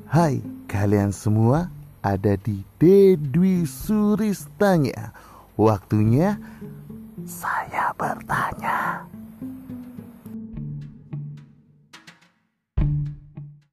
Hai kalian semua, ada di Dedwi Suristanya. Waktunya saya bertanya.